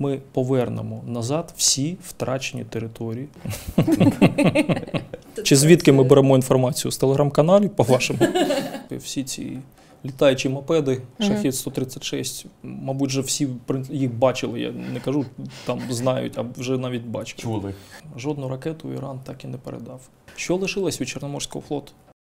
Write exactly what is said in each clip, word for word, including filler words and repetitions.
ми повернемо назад всі втрачені території. Чи звідки ми беремо інформацію? З телеграм-каналів, по-вашому? Всі ці літаючі мопеди, Шахед сто тридцять шість, мабуть, вже всі їх бачили, я не кажу, там знають, а вже навіть бачили. Чули. Жодну ракету Іран так і не передав. Що лишилось від Чорноморського флоту?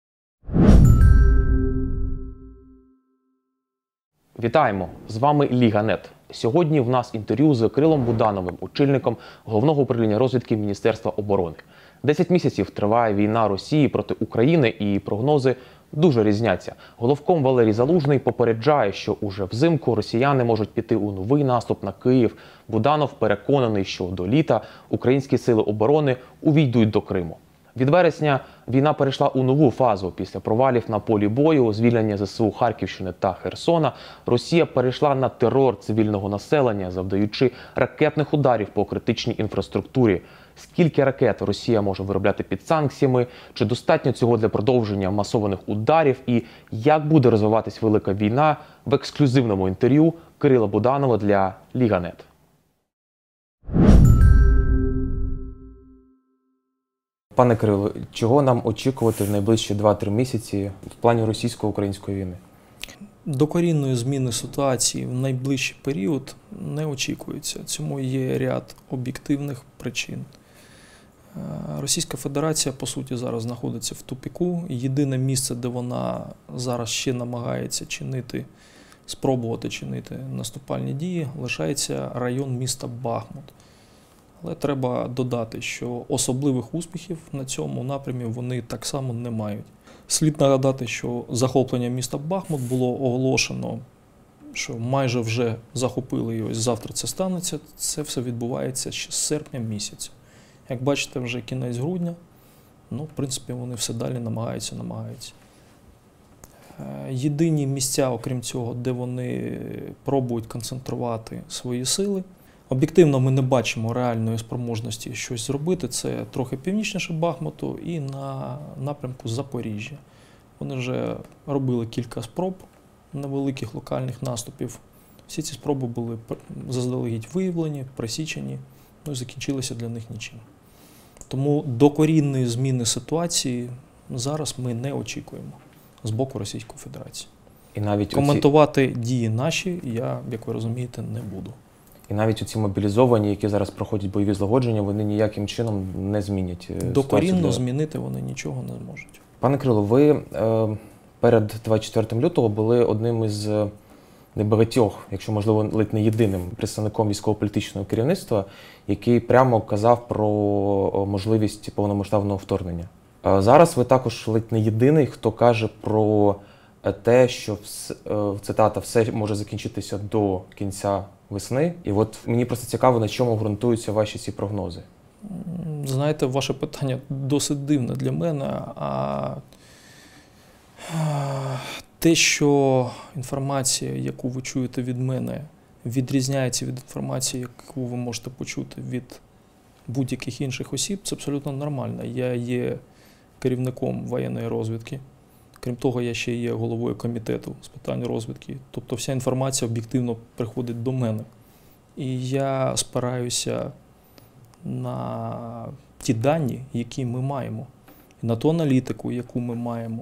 Вітаємо! З вами Ліга.нет. Сьогодні в нас інтерв'ю з Кирилом Будановим, очільником Головного управління розвідки Міністерства оборони. Десять місяців триває війна Росії проти України і прогнози дуже різняться. Головком Валерій Залужний попереджає, що уже взимку росіяни можуть піти у новий наступ на Київ. Буданов переконаний, що до літа українські сили оборони увійдуть до Криму. Від вересня війна перейшла у нову фазу. Після провалів на полі бою, звільнення зе ес у Харківщини та Херсона, Росія перейшла на терор цивільного населення, завдаючи ракетних ударів по критичній інфраструктурі. Скільки ракет Росія може виробляти під санкціями? Чи достатньо цього для продовження масованих ударів? І як буде розвиватись велика війна? В ексклюзивному інтерв'ю Кирила Буданова для Ліга.нет. Пане Кирило, чого нам очікувати в найближчі два-три місяці в плані російсько-української війни? Докорінної зміни ситуації в найближчий період не очікується. Цьому є ряд об'єктивних причин. Російська Федерація, по суті, зараз знаходиться в тупіку. Єдине місце, де вона зараз ще намагається чинити, спробувати чинити наступальні дії, лишається район міста Бахмут. Але треба додати, що особливих успіхів на цьому напрямі вони так само не мають. Слід нагадати, що захоплення міста Бахмут було оголошено, що майже вже захопили, і ось завтра це станеться. Це все відбувається ще з серпня місяця. Як бачите, вже кінець грудня, ну, в принципі, вони все далі намагаються, намагаються. Єдині місця, окрім цього, де вони пробують концентрувати свої сили, об'єктивно ми не бачимо реальної спроможності щось зробити. Це трохи північніше Бахмуту і на напрямку Запоріжжя. Вони вже робили кілька спроб невеликих локальних наступів. Всі ці спроби були заздалегідь виявлені, пресічені, ну і закінчилися для них нічим. Тому докорінної зміни ситуації зараз ми не очікуємо з боку Російської Федерації. І навіть коментувати оці... дії наші я, як ви розумієте, не буду. І навіть оці мобілізовані, які зараз проходять бойові злагодження, вони ніяким чином не змінять докорінно для... змінити вони нічого не зможуть. Пане Кирило, ви е, перед двадцять четвертим лютого були одним із небагатьох, якщо можливо ледь не єдиним представником військово-політичного керівництва, який прямо казав про можливість повномасштабного вторгнення. Е, зараз ви також ледь не єдиний, хто каже про те, що цитата «все може закінчитися до кінця весни». І от мені просто цікаво, на чому ґрунтуються ваші ці прогнози. Знаєте, ваше питання досить дивне для мене, а те, що інформація, яку ви чуєте від мене, відрізняється від інформації, яку ви можете почути від будь-яких інших осіб, це абсолютно нормально. Я є керівником воєнної розвідки. Крім того, я ще є головою комітету з питань розвідки. Тобто вся інформація об'єктивно приходить до мене. І я спираюся на ті дані, які ми маємо, і на ту аналітику, яку ми маємо.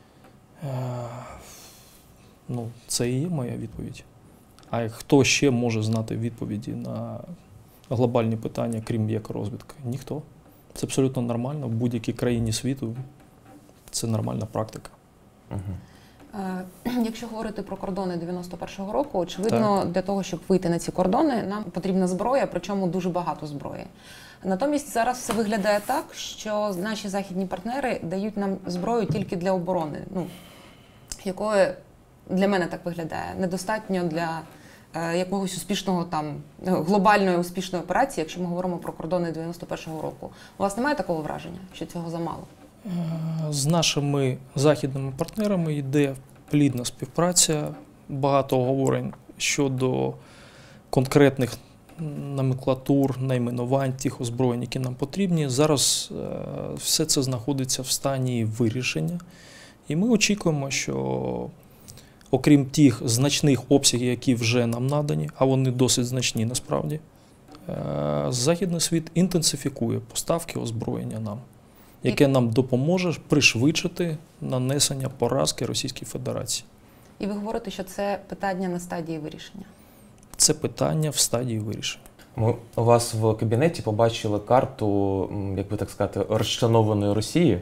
Ну, це і є моя відповідь. А хто ще може знати відповіді на глобальні питання, крім як розвідка? Ніхто. Це абсолютно нормально. В будь-якій країні світу це нормальна практика. Угу. Якщо говорити про кордони дев'яносто першого року, очевидно, так. Для того, щоб вийти на ці кордони, нам потрібна зброя, причому дуже багато зброї. Натомість зараз все виглядає так, що наші західні партнери дають нам зброю тільки для оборони, ну, якої для мене так виглядає, недостатньо для е, якогось успішного там, глобальної успішної операції, якщо ми говоримо про кордони дев'яносто першого року. У вас немає такого враження, що цього замало? З нашими західними партнерами йде плідна співпраця, багато оговорень щодо конкретних номенклатур, найменувань тих озброєнь, які нам потрібні. Зараз все це знаходиться в стані вирішення. І ми очікуємо, що окрім тих значних обсягів, які вже нам надані, а вони досить значні насправді, Західний світ інтенсифікує поставки озброєння нам, яке нам допоможе пришвидшити нанесення поразки Російській Федерації. І ви говорите, що це питання на стадії вирішення? Це питання в стадії вирішення. Ми у вас в кабінеті побачили карту, як би так сказати, розчленованої Росії.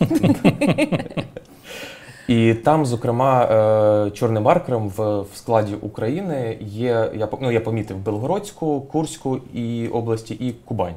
І там, зокрема, чорним маркером в складі України є, я, ну, я помітив, Белгородську, Курську і області і Кубань.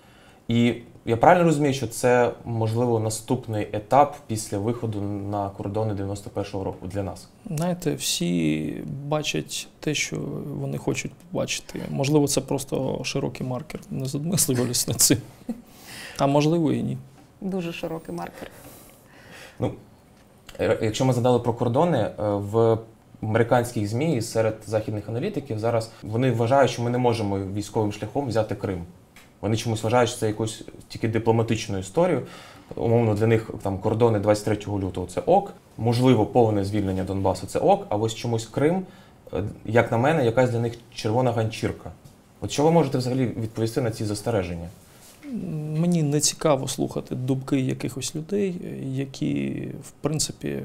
І я правильно розумію, що це, можливо, наступний етап після виходу на кордони дев'яносто першого року для нас? Знаєте, всі бачать те, що вони хочуть побачити. Можливо, це просто широкий маркер. Не задмислювалися над цим. А можливо і ні. Дуже широкий маркер. Ну, якщо ми згадали про кордони, в американських ЗМІ і серед західних аналітиків зараз вони вважають, що ми не можемо військовим шляхом взяти Крим. Вони чомусь вважають, що це якусь тільки дипломатичну історію. Умовно, для них там кордони двадцять третього лютого – це ок. Можливо, повне звільнення Донбасу – це ок. А ось чомусь Крим, як на мене, якась для них червона ганчірка. От що ви можете взагалі відповісти на ці застереження? Мені не цікаво слухати думки якихось людей, які, в принципі,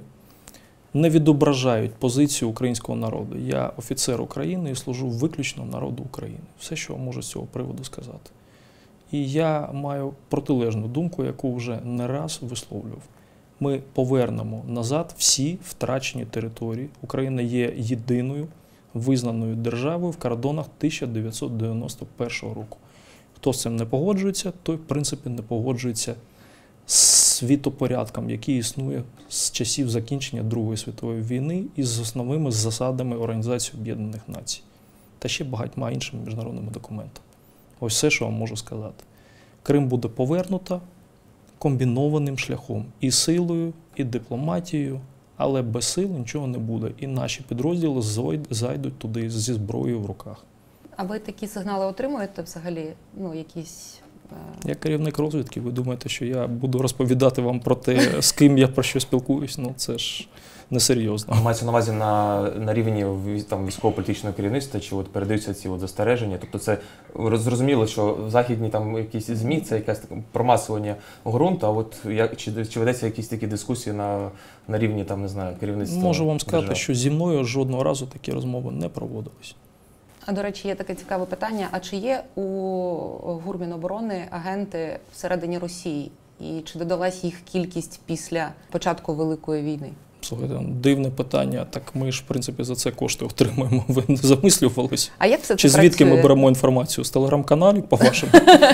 не відображають позицію українського народу. Я офіцер України і служу виключно народу України. Все, що можу з цього приводу сказати. І я маю протилежну думку, яку вже не раз висловлював. Ми повернемо назад всі втрачені території. Україна є єдиною визнаною державою в кордонах тисяча дев'ятсот дев'яносто першого року. Хто з цим не погоджується, той, в принципі, не погоджується з світопорядком, який існує з часів закінчення Другої світової війни і з основними засадами Організації Об'єднаних Націй та ще багатьма іншими міжнародними документами. Ось все, що вам можу сказати. Крим буде повернуто комбінованим шляхом. І силою, і дипломатією, але без сил нічого не буде. І наші підрозділи зайдуть туди зі зброєю в руках. А ви такі сигнали отримуєте взагалі? Ну, якісь... Я керівник розвідки, ви думаєте, що я буду розповідати вам про те, з ким я про що спілкуюсь? Ну, це ж несерйозно. Мається на увазі на, на рівні там, військово-політичного керівництва, чи от передаються ці от застереження? Тобто це зрозуміло, що в західні там якісь ЗМІ, це якесь промасування ґрунту, а от як, чи, чи ведеться якісь такі дискусії на, на рівні, там, не знаю, керівництва? Можу вам сказати, держав? що зі мною жодного разу такі розмови не проводились. А, до речі, є таке цікаве питання. А чи є у ГУР Міноборони агенти всередині Росії? І чи додалась їх кількість після початку Великої війни? Слухайте, дивне питання. Так ми ж, в принципі, за це кошти отримуємо. Ви не замислювалися? А як все це Чи звідки працює? ми беремо інформацію? З телеграм-каналів, по-вашому?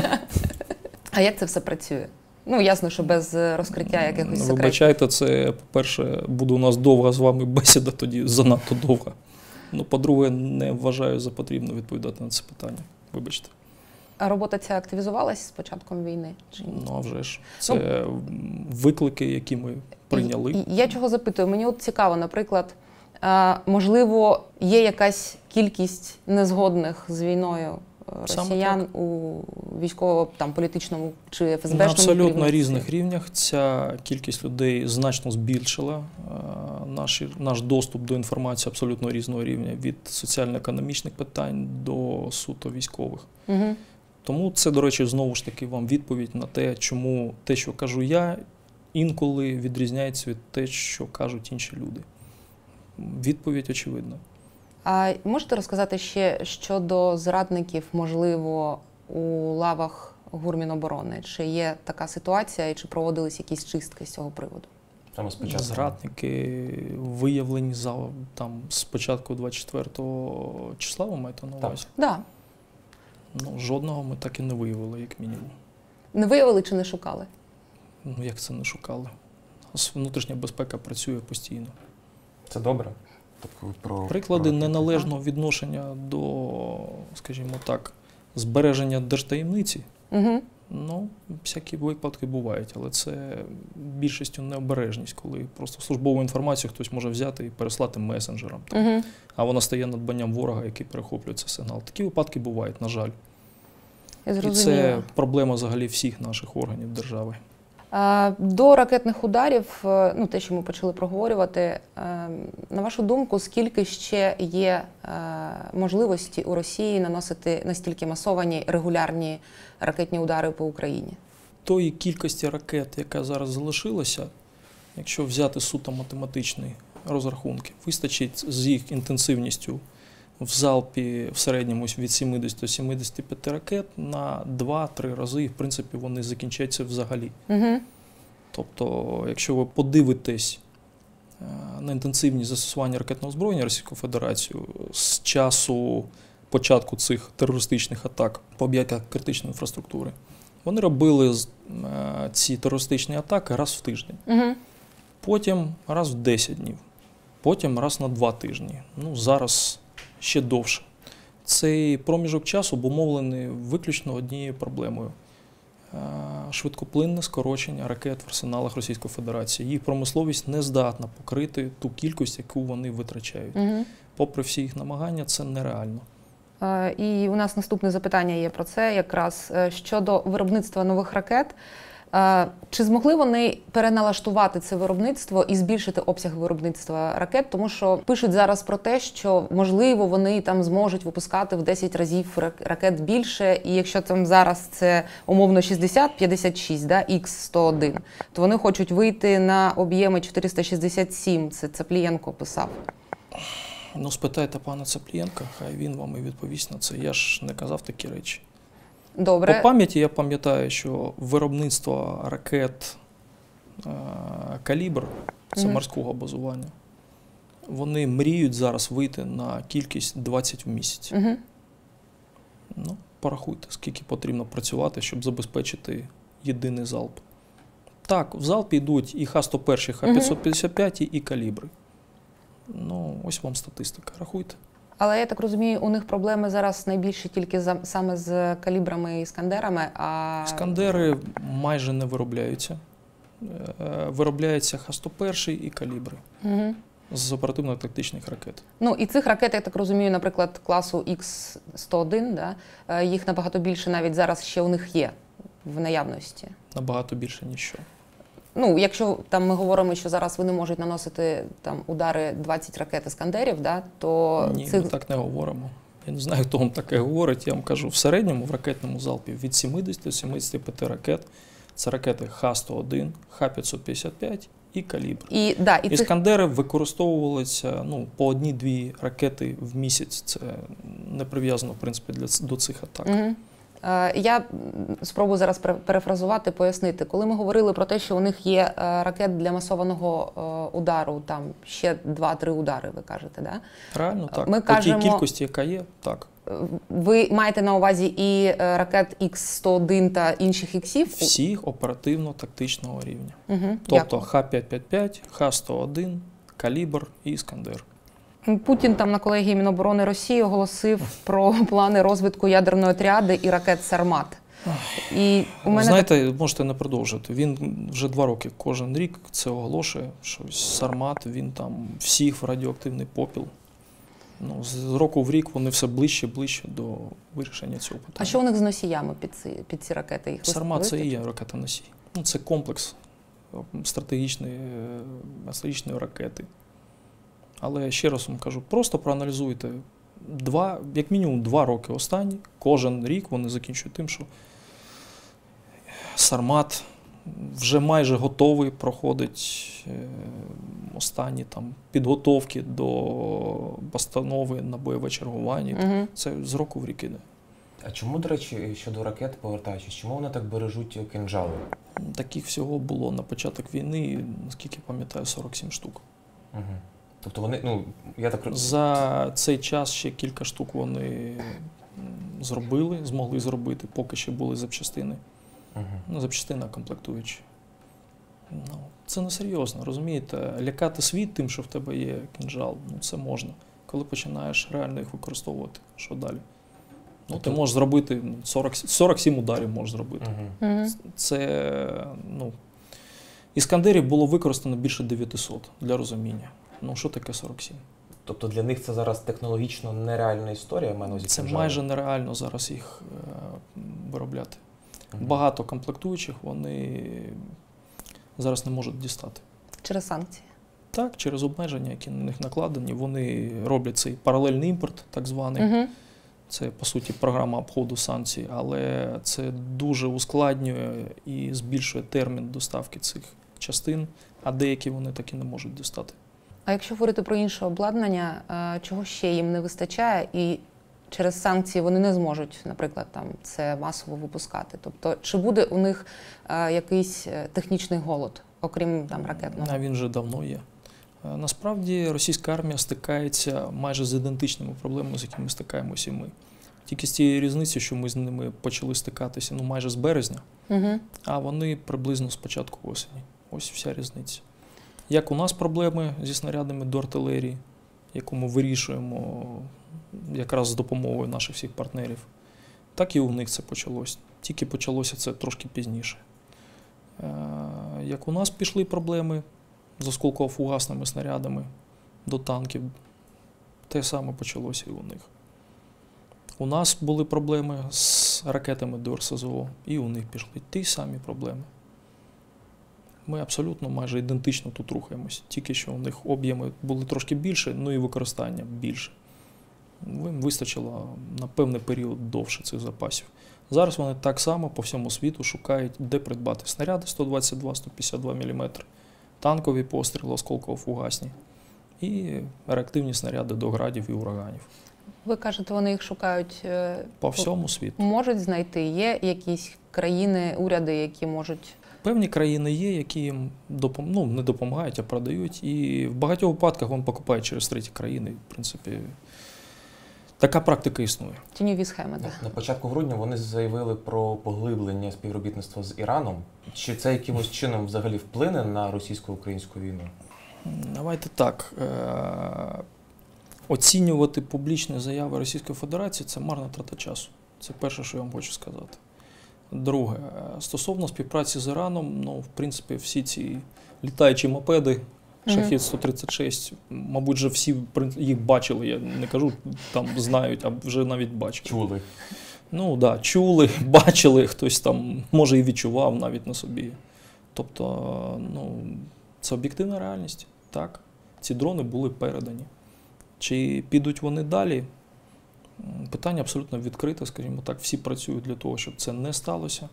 А як це все працює? Ну, ясно, що без розкриття якихось секретів. Вибачайте, це, по-перше, буде у нас довга з вами бесіда, тоді занадто довга. Ну, по-друге, не вважаю за потрібно відповідати на це питання. Вибачте. А робота ця активізувалась з початком війни? Чи ні? Ну, а вже ж. Це ну, виклики, які ми прийняли. І, і я чого запитую? Мені от цікаво, наприклад, а, можливо, є якась кількість незгодних з війною росіян у військово-політичному чи еф ес бешному На абсолютно керівництві? різних рівнях ця кількість людей значно збільшила. Наш, наш доступ до інформації абсолютно різного рівня, від соціально-економічних питань до суто військових. Угу. Тому це, до речі, знову ж таки вам відповідь на те, чому те, що кажу я, інколи відрізняється від те, що кажуть інші люди. Відповідь очевидна. А можете розказати ще щодо зрадників, можливо, у лавах ГУР Міноборони? Чи є така ситуація і чи проводились якісь чистки з цього приводу? Там спочатку. Зрадники виявлені за, там, з початку двадцять четвертого числа, ви маєте на увазі? Так. Да. Ну, жодного ми так і не виявили, як мінімум. Не виявили чи не шукали? Ну, як це не шукали? Внутрішня безпека працює постійно. Це добре? Тобто, про, Приклади про... неналежного відношення до, скажімо так, збереження держтаємниці. Угу. Ну, всякі випадки бувають, але це більшістю необережність, коли просто службову інформацію хтось може взяти і переслати месенджерам. Угу. А вона стає надбанням ворога, який перехоплює цей сигнал. Такі випадки бувають, на жаль. Я І це проблема взагалі всіх наших органів держави. До ракетних ударів, ну те, що ми почали проговорювати, на вашу думку, скільки ще є можливості у Росії наносити настільки масовані регулярні ракетні удари по Україні? Тої кількості ракет, яка зараз залишилася, якщо взяти суто математичні розрахунки, вистачить з їх інтенсивністю в залпі в середньому від сімдесят до сімдесяти п'яти ракет на два-три рази, і в принципі вони закінчаться взагалі. Угу. Тобто, якщо ви подивитесь на інтенсивність застосування ракетного озброєння Російською Федерацією з часу початку цих терористичних атак по об'єктах критичної інфраструктури, вони робили ці терористичні атаки раз в тиждень, угу. потім раз в десять днів, потім раз на два тижні. Ну, зараз ще довше. Цей проміжок часу обумовлений виключно однією проблемою – швидкоплинне скорочення ракет в арсеналах Російської Федерації. Їх промисловість не здатна покрити ту кількість, яку вони витрачають. Угу. Попри всі їх намагання, це нереально. І у нас наступне запитання є про це, якраз щодо виробництва нових ракет. Чи змогли вони переналаштувати це виробництво і збільшити обсяг виробництва ракет? Тому що пишуть зараз про те, що, можливо, вони там зможуть випускати в десять разів ракет більше, і якщо там зараз це умовно шістдесят п'ятдесят шість, да, ікс сто один, то вони хочуть вийти на об'єми чотириста шістдесят сім, це Цаплієнко писав. Ну, спитайте пана Цаплієнка, хай він вам і відповість на це. Я ж не казав такі речі. Добре. По пам'яті я пам'ятаю, що виробництво ракет е, «Калібр», це Угу. морського базування, вони мріють зараз вийти на кількість двадцять в місяць. Угу. Ну, порахуйте, скільки потрібно працювати, щоб забезпечити єдиний залп. Так, в залпі йдуть і Х сто один, і Х п'ятсот п'ятдесят п'ять, і «Калібри». Ну, ось вам статистика, рахуйте. Але я так розумію, у них проблеми зараз найбільше тільки за, саме з калібрами і іскандерами, а… Іскандери майже не виробляються. Виробляється Х сто один і «Калібри» Угу. з оперативно-тактичних ракет. Ну, і цих ракет, я так розумію, наприклад, класу ікс сто один, да, їх набагато більше навіть зараз ще у них є в наявності. Набагато більше, ніж що. Ну, якщо там ми говоримо, що зараз вони можуть наносити там удари двадцять ракет іскандерів, да, то Ні, цих… ми так не говоримо. Я не знаю, хто вам таке говорить. Я вам кажу, в середньому в ракетному залпі від сімдесят до сімдесяти п'яти ракет. Це ракети Х сто один, Х п'ятсот п'ятдесят п'ять і «Калібр». І, да, і Іскандери цих… використовувалися ну, по одній-дві ракети в місяць. Це не прив'язано, в принципі, для, до цих атак. Угу. Я спробую зараз перефразувати, пояснити. Коли ми говорили про те, що у них є ракет для масованого удару, там ще два-три удари, ви кажете, да? Правильно, так. Ми По кажемо, тій кількості, яка є, так. Ви маєте на увазі і ракет ікс сто один та інших іксів? Всіх оперативно-тактичного рівня. Угу. Тобто Х п'ятсот п'ятдесят п'ять, Х сто один, «Калібр» і «Іскандер». Путін там на колегії Міноборони Росії оголосив про плани розвитку ядерної тріади і ракет «Сармат». І у мене Знаєте, так… можете не продовжити. Він вже два роки кожен рік це оголошує, що «Сармат», він там всіх в радіоактивний попіл. Ну, з року в рік вони все ближче і ближче до вирішення цього питання. А що у них з носіями під ці, під ці ракети? Їх «Сармат» – це і є ракета-носій. Ну, це комплекс стратегічної, стратегічної ракети. Але ще раз вам кажу, просто проаналізуйте. Два, як мінімум два роки останні, кожен рік вони закінчують тим, що «Сармат» вже майже готовий, проходить останні там підготовки до постанови на бойове чергування. Угу. Це з року в рік іде. А чому, до речі, щодо ракет, повертаючись, чому вони так бережуть кинджали? Таких всього було на початок війни, наскільки пам'ятаю, сорок сім штук. Угу. Тобто вони, ну, я так розумію. За цей час ще кілька штук вони зробили, змогли зробити, поки ще були запчастини. Угу. Ну, запчастина комплектуючі. Ну, це несерйозно, розумієте? Лякати світ тим, що в тебе є кінжал, ну це можна. Коли починаєш реально їх використовувати, що далі? Ну, ти можеш зробити сорок, сорок сім ударів можеш зробити. Угу. Угу. Це, ну, іскандерів було використано більше дев'ятисот, для розуміння. Ну, що таке сорок сім? Тобто для них це зараз технологічно нереальна історія, в мене Це майже нереально зараз їх е, виробляти. Угу. Багато комплектуючих, вони зараз не можуть дістати. Через санкції? Так, через обмеження, які на них накладені. Вони роблять цей паралельний імпорт, так званий. Угу. Це, по суті, програма обходу санкцій, але це дуже ускладнює і збільшує термін доставки цих частин, а деякі вони так і не можуть дістати. А якщо говорити про інше обладнання, чого ще їм не вистачає і через санкції вони не зможуть, наприклад, там це масово випускати? Тобто, чи буде у них якийсь технічний голод, окрім там ракетного? А він вже давно є. Насправді російська армія стикається майже з ідентичними проблемами, з якими стикаємося і ми. Тільки з тієї різниці, що ми з ними почали стикатися ну, майже з березня, угу. а вони приблизно з початку осені. Ось вся різниця. Як у нас проблеми зі снарядами до артилерії, яку ми вирішуємо якраз з допомогою наших всіх партнерів, так і у них це почалось. Тільки почалося це трошки пізніше. Як у нас пішли проблеми з осколково-фугасними снарядами до танків, те саме почалося і у них. У нас були проблеми з ракетами до РСЗО, і у них пішли ті самі проблеми. Ми абсолютно майже ідентично тут рухаємося, тільки що у них об'єми були трошки більше, ну і використання більше. Їм вистачило на певний період довше цих запасів. Зараз вони так само по всьому світу шукають, де придбати снаряди сто двадцять два - сто п'ятдесят два міліметри, танкові постріли, осколково-фугасні і реактивні снаряди до градів і ураганів. Ви кажете, вони їх шукають по всьому світу. Можуть знайти? Є якісь країни, уряди, які можуть... Певні країни є, які їм допом... ну, не допомагають, а продають. І в багатьох випадках вони покупають через треті країни. В принципі, така практика існує. Тіньові схеми, так. На початку грудня вони заявили про поглиблення співробітництва з Іраном. Чи це якимось чином взагалі вплине на російсько-українську війну? Давайте так. Оцінювати публічні заяви Російської Федерації – це марна трата часу. Це перше, що я вам хочу сказати. Друге, стосовно співпраці з Іраном, ну, в принципі, всі ці літаючі мопеди, Шахід сто тридцять шість, мабуть, вже всі їх бачили, я не кажу, там знають, а вже навіть бачили. Чули. Ну, так, да, чули, бачили, хтось там, може, і відчував навіть на собі. Тобто, ну, це об'єктивна реальність, так. Ці дрони були передані. Чи підуть вони далі? Питання абсолютно відкрите, скажімо так. Всі працюють для того, щоб це не сталося.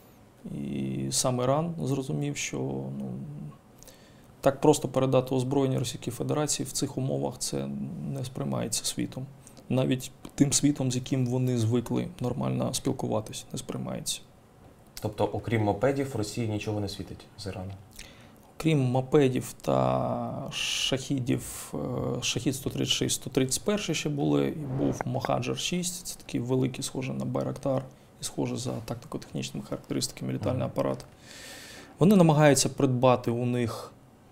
І сам Іран зрозумів, що ну, так просто передати озброєння Російській Федерації в цих умовах це не сприймається світом. Навіть тим світом, з яким вони звикли нормально спілкуватися, не сприймається. Тобто, окрім мопедів, Росії нічого не світить з Ірану? Крім мопедів та шахідів, шахід сто тридцять шість - сто тридцять один ще були, і був Мохаджер шість, це такі великі, схожі на Байрактар, і схожі за тактико-технічними характеристиками літальний апарат. Вони намагаються придбати у них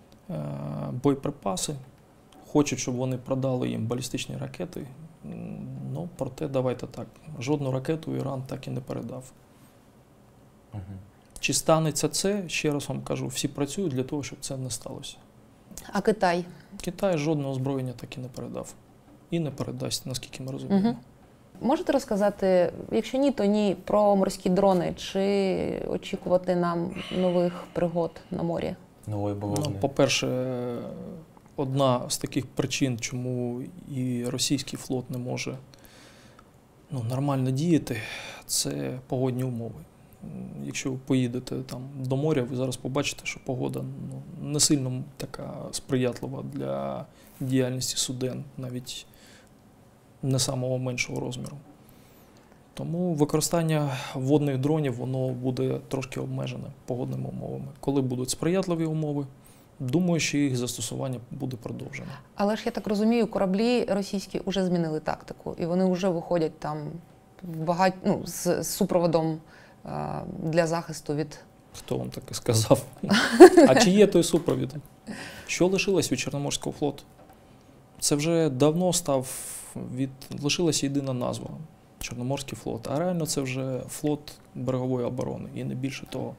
боєприпаси, хочуть, щоб вони продали їм балістичні ракети, ну, проте, давайте так, жодну ракету Іран так і не передав. Угу. Чи станеться це, ще раз вам кажу, всі працюють для того, щоб це не сталося. А Китай? Китай жодного озброєння так і не передав. І не передасть, наскільки ми розуміємо. Угу. Можете розказати, якщо ні, то ні, про морські дрони? Чи очікувати нам нових пригод на морі? Нової бавовни? Ну, по-перше, одна з таких причин, чому і російський флот не може ну, нормально діяти, це погодні умови. Якщо ви поїдете там до моря, ви зараз побачите, що погода ну, не сильно така сприятлива для діяльності суден, навіть не самого меншого розміру. Тому використання водних дронів, воно буде трошки обмежене погодними умовами. Коли будуть сприятливі умови, думаю, що їх застосування буде продовжено. Але ж, я так розумію, кораблі російські вже змінили тактику, і вони вже виходять там в багать... ну, з супроводом для захисту від... Хто вам таке сказав? А чи є той супровід? Що лишилось від Чорноморського флоту? Це вже давно став від... лишилася єдина назва – Чорноморський флот. А реально це вже флот берегової оборони. І не більше того.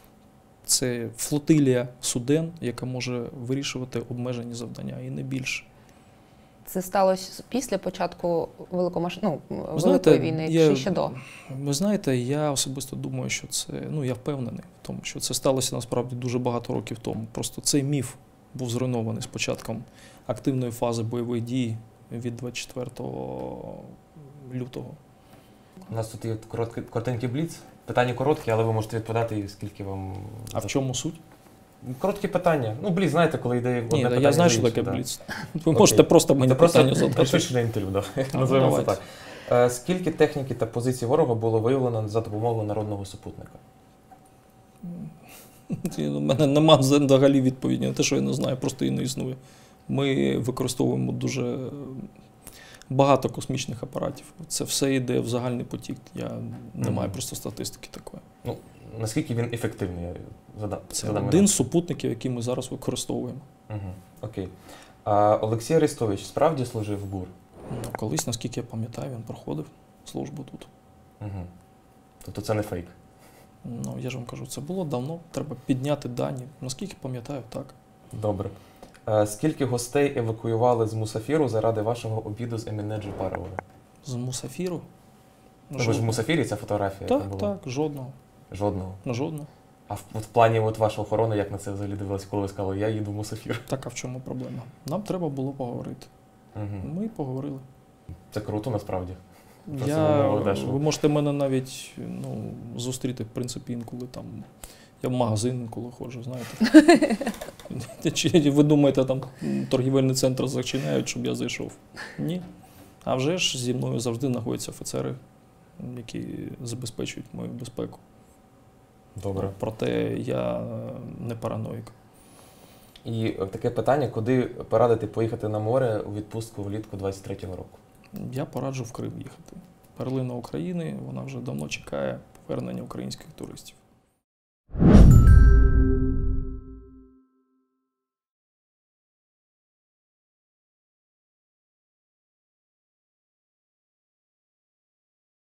Це флотилія суден, яка може вирішувати обмежені завдання. І не більше. Це сталося після початку великомаш... ну, Ви знаєте, Великої війни, я, чи ще до? Ви знаєте, я особисто думаю, що це, ну я впевнений в тому, що це сталося насправді дуже багато років тому. Просто цей міф був зруйнований з початком активної фази бойових дій від двадцять четвертого лютого. У нас тут є короткий, коротенький бліц. Питання короткі, але ви можете відповідати, скільки вам... А в чому суть? Короткі питання. Ну, бліц, знаєте, коли йде одне Ні, питання. я знаю, за що інше, таке да. бліц. Ви можете просто мені Це просто питання задати. підпишене інтерв'ю, да. називаємо це давайте. так. Е, Скільки техніки та позицій ворога було виявлено за допомогою народного супутника? У мене нема взагалі відповіді на те, що я не знаю, просто її не існує. Ми використовуємо дуже багато космічних апаратів. Це все йде в загальний потік. Я не Мгм. маю просто статистики такої. Ну, наскільки він ефективний? Я задам, Це задам один з супутників, який ми зараз використовуємо. Угу. Окей. А Олексій Арестович справді служив в ГУР? Ну, колись, наскільки я пам'ятаю, він проходив службу тут. Угу. Тобто це не фейк? Ну, я ж вам кажу, це було давно. Треба підняти дані. Наскільки пам'ятаю, так. Добре. А скільки гостей евакуювали з Мусафіру заради вашого обіду з Еміне Джапаровою? З Мусафіру? Ну, ви ж в Мусафірі, ця фотографія, яка Так, була? так, жодного. Жодного. Ну, жодного. А в, от в плані от вашої охорони, як на це взагалі дивилися, коли ви сказали, я їду в Мусафір? Так, а в чому проблема? Нам треба було поговорити. Угу. Ми поговорили. Це круто, насправді. Просто Я, умови дешево. ви можете мене навіть ну, зустріти, в принципі, інколи там. Я в магазин інколи ходжу, знаєте. Чи ви думаєте, там торгівельний центр зачиняють, щоб я зайшов? Ні. А вже ж зі мною завжди знаходяться офіцери, які забезпечують мою безпеку. Добре. Проте я не параноїк. І таке питання, куди порадити поїхати на море у відпустку влітку двадцять третього року? Я пораджу в Крим їхати. Перлина України, вона вже давно чекає повернення українських туристів.